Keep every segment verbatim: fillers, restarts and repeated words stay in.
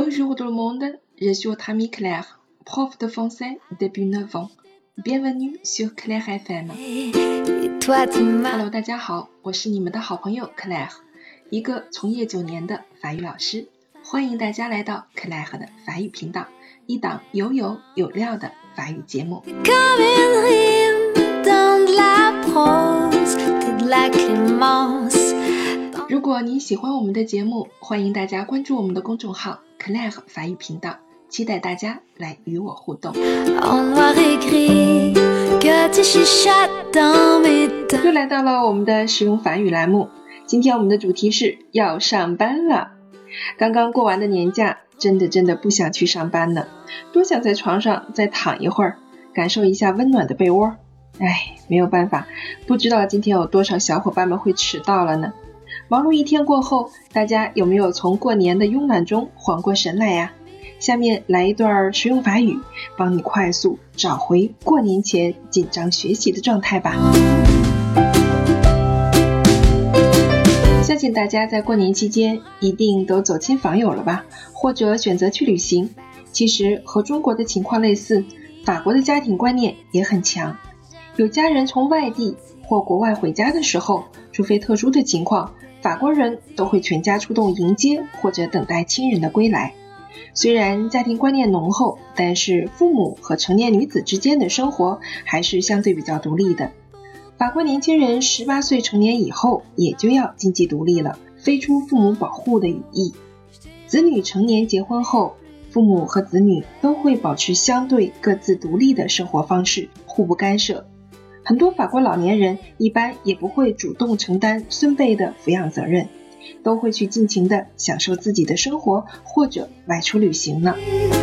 Bonjour tout le monde, je suis votre ami Claire, prof de français depuis neuf ans. Bienvenue sur Claire F M. Hello， 大家好，我是你们的好朋友 Claire， 一个从业九年的法语老师。欢迎大家来到 Claire 的法语频道，一档有有有料的法语节目。如果你喜欢我们的节目，欢迎大家关注我们的公众号 Claire 法语频道，期待大家来与我互动。又来到了我们的实用法语栏目，今天我们的主题是要上班了。刚刚过完的年假，真的真的不想去上班呢，多想在床上再躺一会儿，感受一下温暖的被窝。唉，没有办法，不知道今天有多少小伙伴们会迟到了呢。忙碌一天过后，大家有没有从过年的慵懒中缓过神来呀？下面来一段实用法语，帮你快速找回过年前紧张学习的状态吧。相信大家在过年期间一定都走亲访友了吧，或者选择去旅行。其实和中国的情况类似，法国的家庭观念也很强。有家人从外地或国外回家的时候，除非特殊的情况，法国人都会全家出动迎接或者等待亲人的归来。虽然家庭观念浓厚，但是父母和成年女子之间的生活还是相对比较独立的。法国年轻人十八岁成年以后也就要经济独立了，飞出父母保护的羽翼。子女成年结婚后，父母和子女都会保持相对各自独立的生活方式，互不干涉。很多法国老年人一般也不会主动承担孙辈的抚养责任，都会去尽情地享受自己的生活，或者外出旅行呢。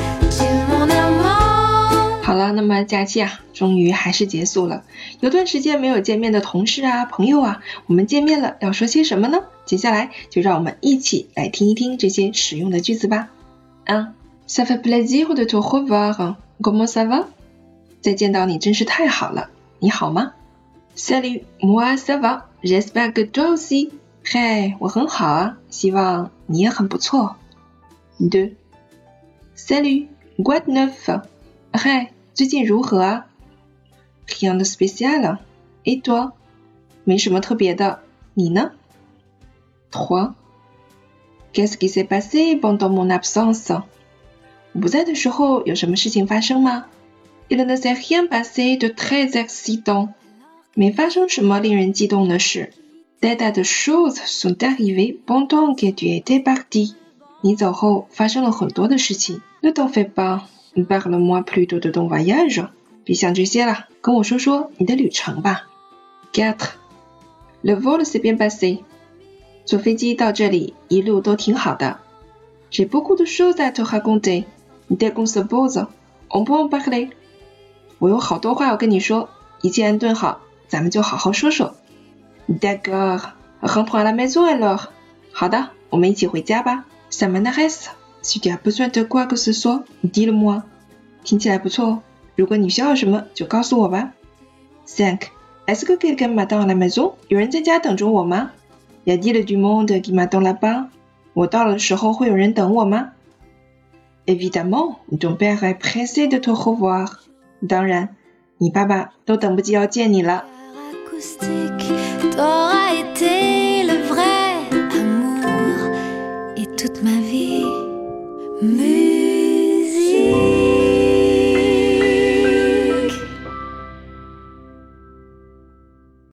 好了，那么假期啊，终于还是结束了。有段时间没有见面的同事啊、朋友啊，我们见面了要说些什么呢？接下来就让我们一起来听一听这些实用的句子吧。un Ça fait plaisir de te revoir. Comment ça va? 再见到你真是太好了，你好吗？ Salut, moi ça va. J'espère que toi aussi. 嘿，我很好啊，希望你也很不错。deux Salut, quoi de neuf? 嘿，最近如何啊？ Rien de spécial. Et toi? 没什么特别的，你呢？ trois Qu'est-ce qui s'est passé pendant mon absence? 我不在的时候有什么事情发生吗？ Il ne s'est rien passé de très excitant. 没发生什么令人激动的事。Des tas de choses sont arrivées pendant que tu étais parti. 你走后发生了很多的事情。Ne t'en fais pas. Parle-moi plutôt de ton voyage. 别想这些了，跟我说说你的旅程吧。quatre Le vol s'est bien passé. 坐飞机到这里一路都挺好的。J'ai beaucoup de choses à te raconter. Dès qu'on se pose, on peut en parler. 我有好多话要跟你说，一切安顿好，咱们就好好说说。D'accord, rentrons à la maison alors. 好的，我们一起回家吧。Ça m'intéresse. Si tu as besoin de quoi que ce soit, dis-le-moi. 听起来不错哦，如果你需要什么就告诉我吧。cinq Est-ce que quelqu'un m'attend à la maison? 有人在家等着我吗？ Y a-t-il du monde qui m'attend là-bas? 我到的时候会有人等我吗？ Évidemment, ton père est pressé de te revoir. 当然，你爸爸都等不及要见你了。T'auras été le vrai amour et toute ma vie.